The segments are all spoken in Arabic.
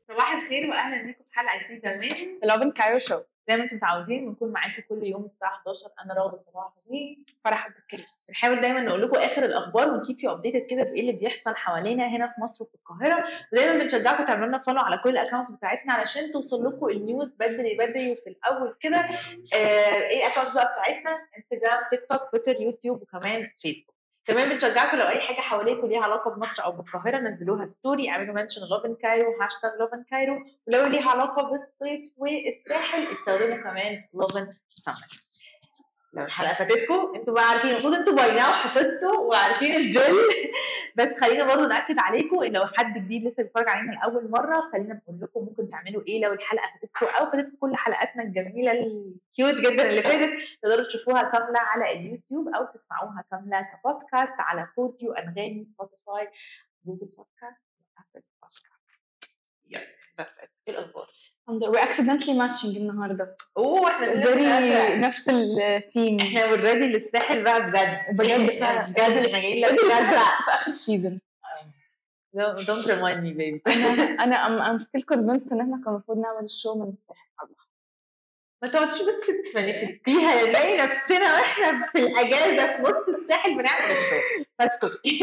صباح الخير واهلا بيكم في حلقه جديده من لافن كايرو شو. زي ما انتم متعودين بنكون معاكم كل يوم الساعه 11. انا راغده صباح الخير فرح عبد الكريم. بنحاول دايما نقول لكم اخر الاخبار ونكيب يو ابديتد كده بايه اللي بيحصل حوالينا هنا في مصر وفي القاهره، ودايما بنشجعكم تعملوا لنا فولو على كل الاكونتس بتاعتنا علشان توصل لكم النيوز بدري بدري وفي الاول كده. ايه الاكونتس بقى بتاعتنا؟ انستجرام، تيك توك، تويتر، يوتيوب، وكمان فيسبوك. كمان بنشجعكم لو اي حاجه حواليكم ليها علاقه بمصر او بالقاهره نزلوها ستوري، اعملوا منشن لافن كايرو هاشتاج لافن كايرو، ولو ليها علاقه بالصيف والساحل استخدموا كمان لافن سمر. لو الحلقه فاتتكم انتوا بقى عارفين، المفروض انتوا باي ناو حفظتوا وعارفين الجل بس خلينا برضو ناكد عليكم ان لو حد جديد لسه بيتفرج علينا لاول مره، خلينا نقول لكم ممكن تعملوا ايه لو الحلقه فاتتكم او فاتتكم كل حلقاتنا الجميله الكيوت جدا اللي فاتت. تقدروا تشوفوها كامله على اليوتيوب او تسمعوها كامله كبودكاست على بوديو، انغامي، سبوتيفاي، جوجل بودكاست، وابل بودكاست. يلا ايه الاخبار؟ we're accidentally matching النهارده. احنا نفس الثيم. احنا اوريدي للساحل بقى بجد بجد بجد احنا جايين لك في اخر السيزون. don't remind me baby. انا I'm still convinced ان احنا كان المفروض نعمل الشو من الساحل. ما تقعديش بس تمانيفستيها، نلاقي نفسنا واحنا في الاجازه في نص الساحل بنعمل الشو. اسكتي.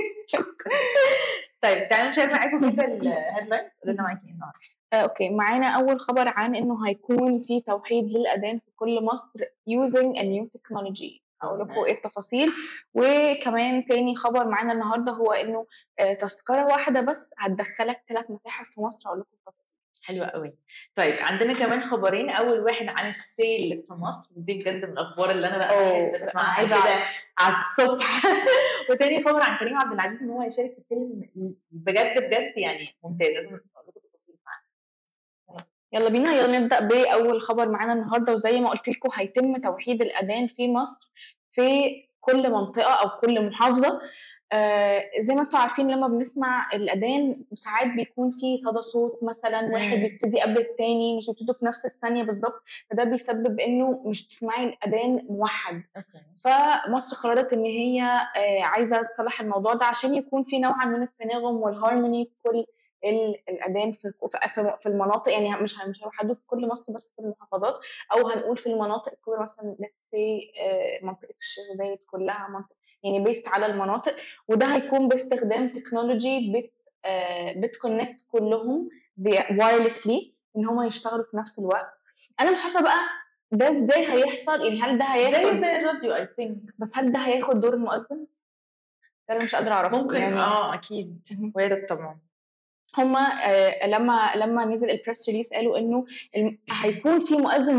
طيب تعالوا نشارك معاكم كده الهيدلاينز. قولوا لنا معاكي ايه النهارده. اوكي، معانا اول خبر عن انه هيكون في توحيد للاذان في كل مصر using a new technology. اقول لكم ايه التفاصيل. وكمان تاني خبر معانا النهارده هو انه تذكره واحده بس هتدخلك 3 متاحف في مصر. اقول لكم التفاصيل. حلوة قوي. طيب عندنا كمان خبرين، اول واحد عن السيل في مصر، ودي بجد من الاخبار اللي انا بقى بسمعها كده على الصبح. وتاني خبر عن كريم عبد العزيز ان هو هيشارك في فيلم بجد بجد يعني ممتاز. لازم اقول لكم تفاصيل معانا. يلا بينا، يلا نبدا باول خبر معانا النهارده. وزي ما قلت لكم هيتم توحيد الاذان في مصر في كل منطقه او كل محافظه. زي ما انتم عارفين لما بنسمع الأذان ساعات بيكون في صدى صوت، مثلا واحد بيبتدي قبل التاني، مش بيبتدوا في نفس الثانية بالظبط، فده بيسبب انه مش تسمعي الأذان موحد. فمصر قررت ان هي عايزة تصلح الموضوع ده عشان يكون في نوعا من التناغم والهارموني في كل الأذان في المناطق. يعني مش هيوحدوه في كل مصر بس في المحافظات، او هنقول في المناطق الكبرى مثلا let's say منطقة الشيخ زايد كلها منطقة، يعني بيست على المناطق. وده هيكون باستخدام تكنولوجي بتكونكت كلهم وايرلسلي ان هم يشتغلوا في نفس الوقت. انا مش عارفه بقى ده ازاي هيحصل، يعني هل ده هياخد زي الراديو اي ثينك، بس هل ده هياخد دور المؤذن؟ ده انا مش قادره اعرف. ممكن يعني اكيد وارد طبعا. هما لما نزل البريس ريليس قالوا انه هيكون في مؤذن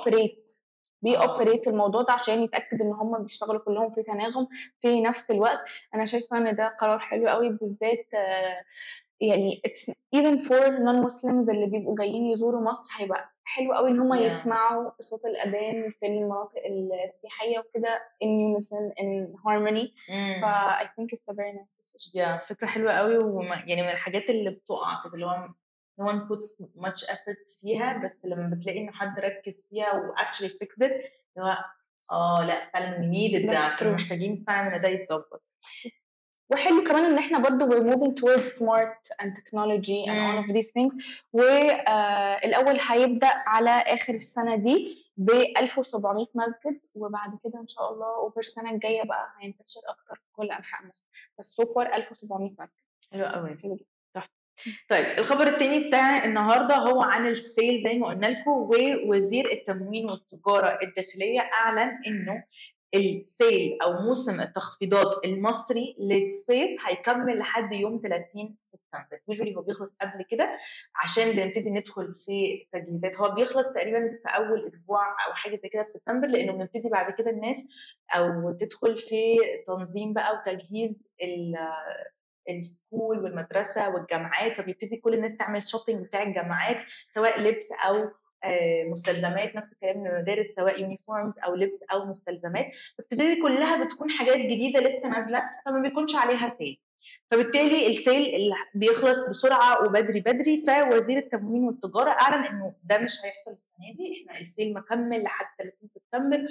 بيوبريت الموضوع ده عشان يتاكد ان هم بيشتغلوا كلهم في تناغم في نفس الوقت. انا شايفه ان ده قرار حلو قوي، بالذات يعني it's even for non-Muslims اللي بيبقوا جايين يزوروا مصر. هيبقى حلو قوي ان هم يسمعوا صوت الاذان في المناطق السياحيه وكده in unison in harmony. I think it's a very nice decision. فكره حلوه قوي، يعني من الحاجات اللي بتقع كده اللي هو no one puts much effort فيها، بس لما بتلاقي انه حد ركز فيها و actually fixed it اللي هو لا فعلا we needed ده، محتاجين فعلا ان ده يتظبط. وحلو كمان ان احنا برضو we're moving towards smart and technology and all of these things. والاول هيبدا على اخر السنه دي ب 1700 مسجد، وبعد كده ان شاء الله اوفر السنه الجايه بقى هينتشر اكتر في كل انحاء مصر، بس سو فار 1700 مسجد. حلو قوي. طيب الخبر الثاني بتاع النهارده هو عن السيل زي ما قلنا لكم، ووزير التموين والتجاره الداخليه اعلن انه السيل او موسم التخفيضات المصري للصيف هيكمل لحد يوم 30 سبتمبر. يوجولي هو بيخلص قبل كده عشان بنبتدي ندخل في تجهيزات. هو بيخلص تقريبا في اول اسبوع او حاجه زي كده في سبتمبر، لانه بنبتدي بعد كده الناس او تدخل في تنظيم بقى وتجهيز السكول والمدرسه والجامعات، فبيبتدي كل الناس تعمل شوبينج بتاع الجامعات سواء لبس او مستلزمات، نفس الكلام من المدارس سواء يونيفورمز او لبس او مستلزمات، فبتبتدي كلها بتكون حاجات جديده لسه نازله فما بيكونش عليها سيل، فبالتالي السيل اللي بيخلص بسرعه وبدري بدري. فوزير التموين والتجاره اعلن انه ده مش هيحصل السنه دي، احنا السيل مكمل لحد 30 سبتمبر،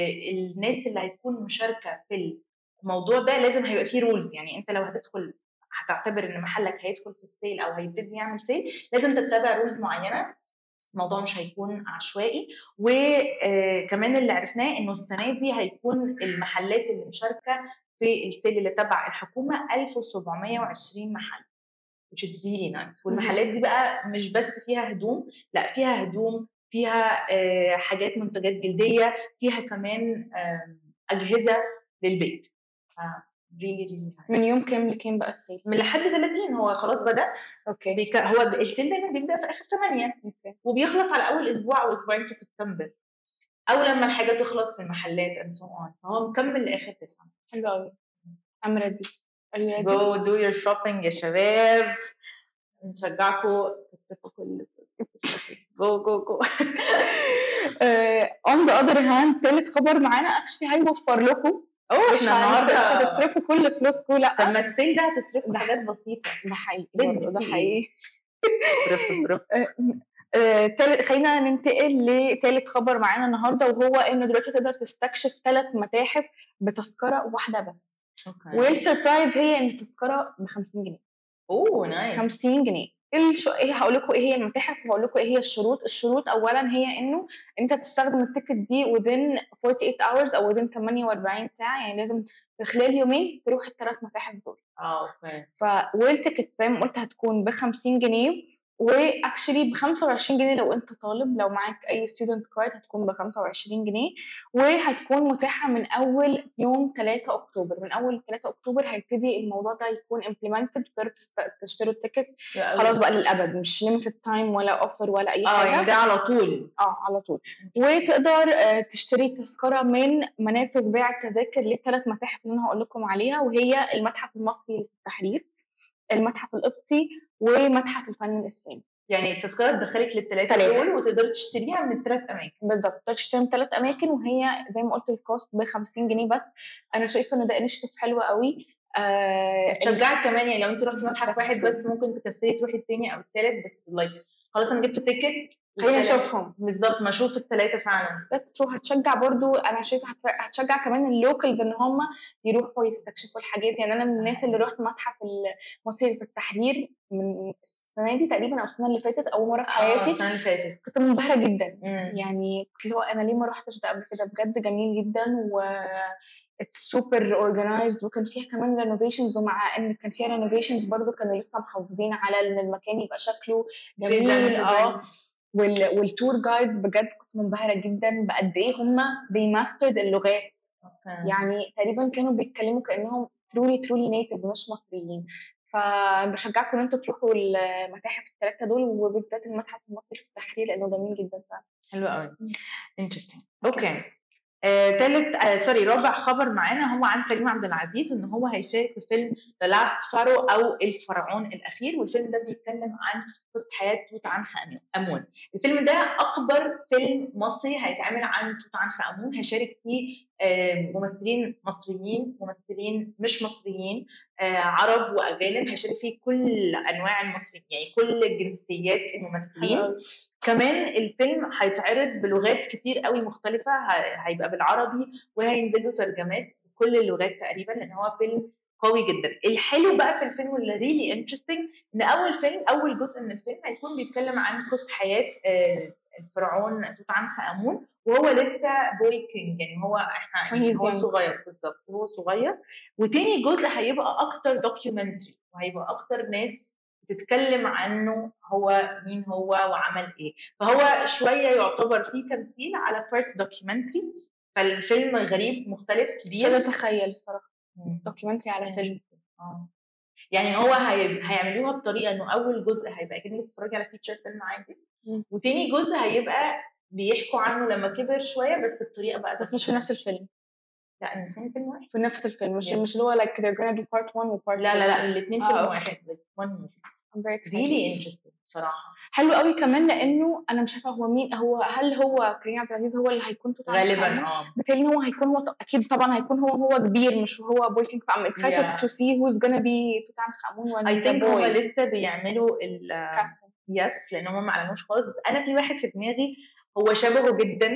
والناس اللي هتكون مشاركه في الموضوع ده لازم هيبقى فيه رولز. يعني انت لو هتدخل هتعتبر ان محلك هيدخل في السيل او هيبتدي يعمل سيل، لازم تتبع رولز معينه. الموضوع مش هيكون عشوائي. وكمان اللي عرفناه انه السنه دي هيكون المحلات اللي مشاركه في السيل اللي تبع الحكومه 1720 محل، which is really nice. والمحلات دي بقى مش بس فيها هدوم، لا فيها هدوم، فيها حاجات منتجات جلديه، فيها كمان اجهزه للبيت. really really nice. من يوم كام لكام بقى السيل؟ من لحد 30 هو خلاص بدأ. اوكي. هو السيل دايما بيبدأ في آخر 8 وبيخلص على أول أسبوع أو أسبوعين في سبتمبر، أو لما الحاجة تخلص في المحلات and so on. فهو مكمل لآخر 9. حلو قوي. I'm ready. Are you ready? Go do your shopping يا شباب، نشجعكم تصرفوا كل go. On the other hand تالت خبر معانا actually هيوفر لكم. احنا النهارده مش هتصرفوا كل فلوسكم، لا. طب ما السيل ده هتصرفوا حاجات بسيطه. ده حقيقي. ده حقيقي. صرف. خلينا ننتقل لثالث خبر معانا النهارده، وهو انه دلوقتي تقدر تستكشف 3 متاحف بتذكره واحده بس. والسربرايز هي ان التذكره ب50 جنيه. اوه نايس. 50 جنيه. ايه هقول لكم ايه هي المتاحف وهقول لكم ايه هي الشروط اولا هي انه انت تستخدم التيكت دي within 48 hours او within 48 ساعه، يعني لازم في خلال يومين تروح ال3 متاحف دول. اوكي. والتيكت زي ما قلت هتكون ب50 جنيه، واكشلي ب25 جنيه لو انت طالب. لو معاك اي ستودنت كارد هتكون ب25 جنيه، وهتكون متاحه من اول يوم 3 اكتوبر. من اول 3 اكتوبر هيبتدي الموضوع ده يكون امبلمنتد، تقدروا تشتروا التيكت خلاص بقى للابد، مش ليميتد تايم ولا اوفر ولا اي حاجه. يعني ده على طول. على طول. وتقدر تشتري تذكره من منافذ بيع التذاكر لل3 متاحف اللي انا هقول لكم عليها، وهي المتحف المصري للتحرير، المتحف القبطي، ومتحف الفن الاسلامي. يعني التذكره تدخلك لل3 دول وتقدر تشتريها من ال3 اماكن. بالظبط، تقدر تشتريها من 3 اماكن، وهي زي ما قلت الكوست ب50 جنيه بس. انا شايفه ان ده انشيتيف حلو قوي. تشجعك كمان، يعني لو انت رحتي متحف واحد بس ممكن تكسري تروحي الثاني او الثالث، بس لايك خلاص انا جبت تيكت خلينا نشوفهم. بالظبط، ما اشوف ال3 فعلا. هتشجع برضو. انا شايفه هتشجع كمان اللوكلز ان هم يروحوا يستكشفوا الحاجات. يعني انا من الناس اللي رحت متحف المصري في التحرير من السنه دي تقريبا او السنه اللي فاتت، اول مره في حياتي. السنه اللي فاتت كنت منبهره جدا. يعني كنت اللي هو انا ليه ما رحتش ده قبل كده؟ بجد جميل جدا، و سوبر اورجنايزد، وكان فيها كمان رينوفيشنز. ومع ان كان فيها رينوفيشنز برضو كانوا لسه محافظين على ان المكان يبقى شكله جميل. والتور جايدز بجد كنت منبهره جدا بقد ايه هم they mastered اللغات. يعني تقريبا كانوا بيتكلموا كانهم truly native مش مصريين. فبشجعكم ان انتوا تروحوا المتاحف ال3 دول، وبالذات المتحف المصري في التحرير لانه جميل جدا فعلا. حلو قوي. interesting. اوكي. رابع خبر معانا هو عن كريم عبد العزيز، ان هو هيشارك في فيلم The Last Pharaoh او الفرعون الاخير. والفيلم ده بيتكلم عن قصه حياه توت عنخ امون. الفيلم ده اكبر فيلم مصري هيتعمل عن توت عنخ امون. هيشارك فيه ممثلين مصريين، ممثلين مش مصريين، عرب واجانب. هيشارك فيه كل انواع المصريين، يعني كل جنسيات الممثلين. كمان الفيلم هيتعرض بلغات كتير قوي مختلفه، هيبقى بالعربي وهينزل له ترجمات بكل اللغات تقريبا، لان هو فيلم قوي جدا. الحلو بقى في الفيلم واللي ريلي انترستنج ان اول جزء من الفيلم هيكون بيتكلم عن قصه حياه الفرعون توت عنخ امون وهو لسه بوي كينج، يعني هو هو صغير بالظبط، هو صغير. وتاني جزء هيبقى اكتر دوكيومنتري، وهيبقى اكتر ناس بتتكلم عنه هو مين هو وعمل ايه. فهو شويه يعتبر فيه تمثيل على بارت دوكيومنتري. فالفيلم غريب مختلف كبير. كده تخيل الصراحه دوكيومنتري على فيلم. يعني هو هيعملوها بطريقه انه اول جزء هيبقى كأنك بتتفرجي على فيتشر فيلم عادي، وتاني جزء هيبقى بيحكوا عنه لما كبر شويه بس بطريقه بقى، بس مش في نفس الفيلم. لا الاثنين فيلم واحد. في نفس الفيلم، مش اللي هو like they're gonna do part 1 و part 2. لا الاثنين فيلم واحد. I'm very excited. really interesting صراحه. حلو قوي كمان لانه انا مش عارفه هو مين هل هو كريم عبد العزيز هو اللي هيكون توت عنخ آمون؟ غالبا بالتالي هو هيكون اكيد طبعا هيكون هو كبير مش هو بوي كينج. فام excited to see who's gonna be توت عنخ آمون when I think هم لسه بيعملوا الكاستنج. يس لان هم ما علموش خالص. بس انا في واحد في دماغي هو شبهه جدا،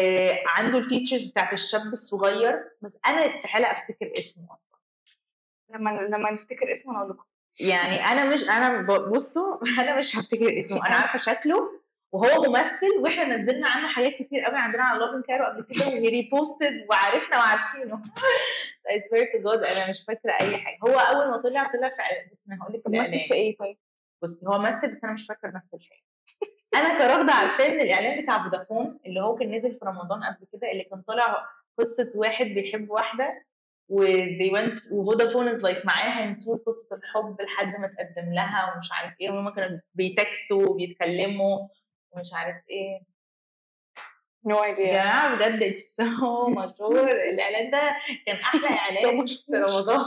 عنده الفيتشرز بتاعت الشاب الصغير، بس انا استحاله افتكر اسمه اصلا. لما نفتكر اسمه نقول لكم. يعني بصوا انا مش هفتكر اسمه، انا عارفه شكله وهو ممثل، واحنا نزلنا عنه حاجات كتير قوي عندنا على لوفن كارو قبل كده وريبوستد وعرفنا وعارفينه. I swear to God انا مش فاكره اي حاجه. هو اول ما طلع في بس انا هقول لك مثل في ايه طيب؟ بصي هو مثل بس انا مش فاكره مثل في ايه. انا كراغده عارفاه من الاعلان بتاع فودافون اللي هو كان نزل في رمضان قبل كده، اللي كان طالع قصه واحد بيحب واحده وفودافون از لايك معاهم طول قصه الحب لحد ما تقدم لها ومش عارف ايه، وهما كانوا بيتكستوا وبيتكلموا ومش عارف ايه. نو ايديا يا جماعه بجد سو مشهور الاعلان ده، كان احلى اعلان في رمضان.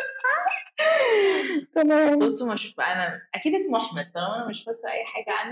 تمام. بصوا مش انا اكيد اسمه احمد، طالما انا مش فاكره اي حاجه عنه.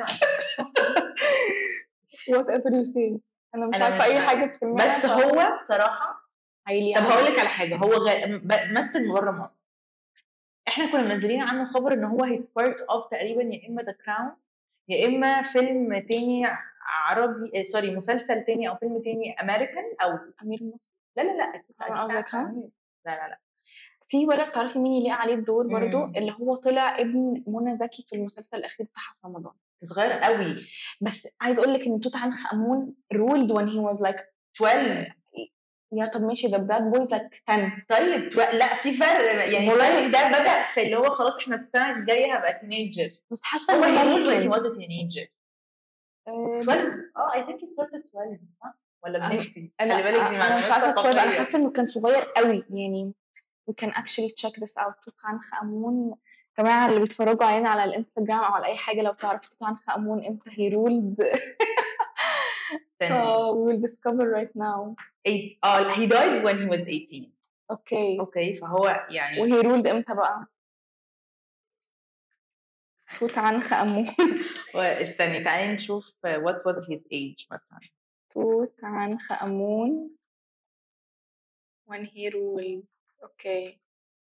وات ايفر يو سي، انا مش عارفه اي حاجه بتسمعها. بس هو بصراحه طب هقول لك على حاجه، هو مثل بره مصر. احنا كنا منزلين عنه خبر ان هو هيز بارت اوف تقريبا يا اما ذا كراون يا اما فيلم تاني عربي سوري مسلسل تاني او فيلم تاني امريكان او امير مصر. لا اكيد قصدك لا في ولد تعرفي مين يليق عليه الدور برضو؟ اللي هو طلع ابن منى زكي في المسلسل الاخير بتاعها في رمضان. صغير قوي، بس عايز اقول لك ان توت عنخ امون ruled when he was like 12. يا طب ماشي ده باد بويز like 10. طيب لا في فرق يعني. الفرق ده بدأ في اللي هو خلاص احنا السنه الجايه هبقى تينيجر، بس حاسه هو ان when he was a teenager 12. I think he started 12 صح ولا بنفسي؟ خلي بالك دي انا مش عارفه 12. انا حاسه انه كان صغير قوي يعني. we can actually check this out. توت عنخ امون جماعه اللي بيتفرجوا علينا على الانستجرام او على اي حاجه، لو تعرفوا توت عنخ امون امتى he ruled we will discover right now. he died when he was 18. اوكي فهو يعني وهي ruled امتى بقى؟ توت عنخ امون استني تعالي نشوف what was his age مثلا. توت عنخ امون when he ruled. اوكي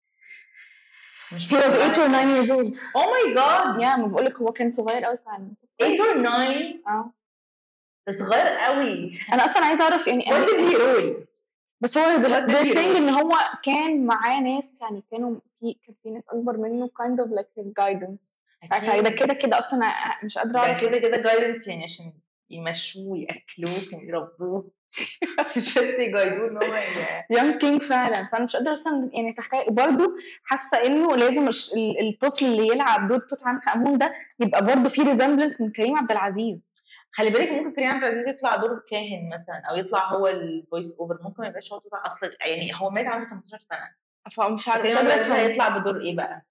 he was 8 or 9 years old. oh my god ما بقولك هو كان صغير قوي فعلا. 8 or 9 ده صغير قوي. انا اصلا عايزه اعرف يعني what did he rule. بس هو they're saying ان هو كان معاه ناس يعني كان في ناس اكبر منه kind of like his guidance. ده كده اصلا مش قادره اعرف كده guidance يعني عشان يمشوه ياكلوه ويربوه مش بس يجايدوه ان هو يونج كينج فعلا. فانا مش قادره اصلا يعني اتخيل برضه. حاسه انه لازم الطفل اللي يلعب دور توت عنخ امون ده يبقى برضه فيه ريزمبلنس من كريم عبد العزيز. خلي بالك ممكن كريم عبد العزيز يطلع دور كاهن مثلا او يطلع هو الفويس اوفر، ممكن ما يبقاش هو طلع اصلا يعني هو مات عنده 18 سنه فمش عارفه كريم عبد العزيز هيطلع بدور ايه بقى.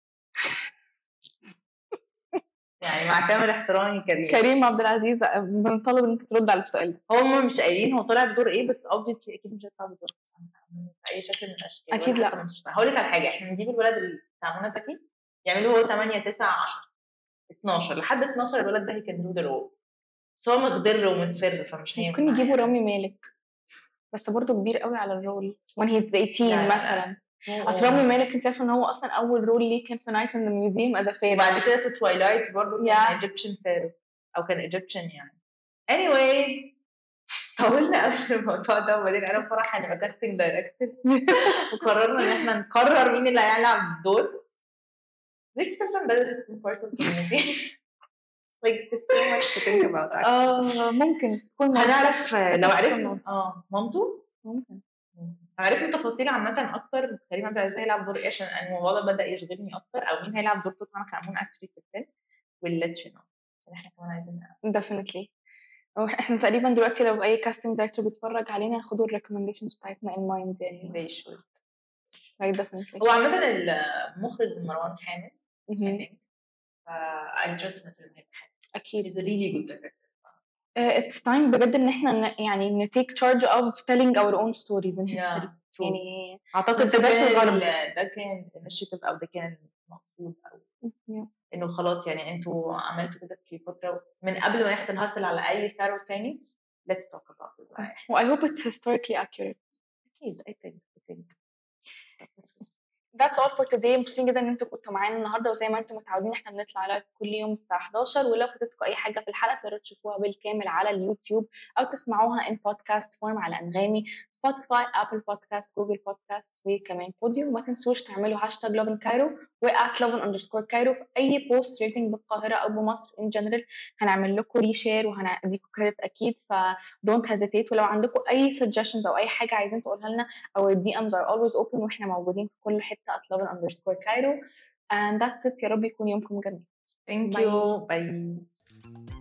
يعني مع كامل احترامي كريم عبد العزيز بنطلب ان انت ترد على السؤال ده. هم مش قايلين هو طلع بدور ايه، بس obviously اكيد مش هيطلع بدور اي شكل من الاشكال. اكيد لا. هقول لك على حاجه، احنا نجيب الولد بتاع منى زكي يعملوا هو 8 9 10 12 لحد 12 الولد ده كان دو درو، بس هو مخضر ومصفر فمش هينفع. ممكن يجيبوا رامي مالك بس برضه كبير قوي على الرول when he's 18 مثلا. اصل رامي مالك انت عارفه ان هو اصلا اول رول ليه كان في نايت ان ذا ميوزيوم از فيرو، وبعد كده في تويلايت برضه كان ايجيبشن فيرو او كان ايجيبشن يعني. anyways طولنا قوي الموضوع ده، وبعدين انا وفرح هنبقى كاستنج دايركتورز وقررنا ان احنا نقرر مين اللي هيلعب الدور. This person better be part of the movie. Like there's so much to think about. ممكن تكون هنعرف لو عرفنا مامته ممكن عرفنا تفاصيل عامة أكتر كريم عبد العزيز هيلعب دور إيه، عشان الموضوع ده بدأ يشغلني أكتر، أو مين هيلعب دور توت عنخ آمون actually في الفيلم we'll let you know. إحنا كمان عايزين definitely. إحنا تقريبا دلوقتي لو أي casting director بيتفرج علينا ياخدوا recommendations بتاعتنا in mind يعني. they should. definitely. هو عامة المخرج مروان حامد I'm just in the film أكيد. He's a really good director. It's time بجد إن إحنا يعني take charge of telling our own stories in history. يعني أعتقد ده كان initiative أو ده كان مقصود أو إنه خلاص يعني أنتوا عملتوا كده في فترة من قبل ما يحصل هاسل على أي فارو تاني. Let's talk about it. I hope it's historically accurate. I think. That's all for today. مبسوطين جدا ان انتوا كنتوا معانا النهارده، وزي ما انتم متعودين احنا بنطلع لايف كل يوم الساعه 11، ولو فاتتكم اي حاجه في الحلقه تقدروا تشوفوها بالكامل على اليوتيوب او تسمعوها in podcast form على انغامي سبوتيفاي، ابل بودكاست، جوجل بودكاست، وكمان بوديو. وما تنسوش تعملوا هاشتاج لوفن كايرو @lovin_كايرو في اي بوست ريتنج بالقاهره او بمصر ان جنرال. هنعمل لكم ريشير وهنديكم كريدت اكيد، ف don't hesitate. ولو عندكم اي suggestions او اي حاجه عايزين تقولها لنا، our DMs are always open، واحنا موجودين في كل حته @lovin_كايرو. and that's it. يا رب يكون يومكم جميل. Thank باي. you. Bye.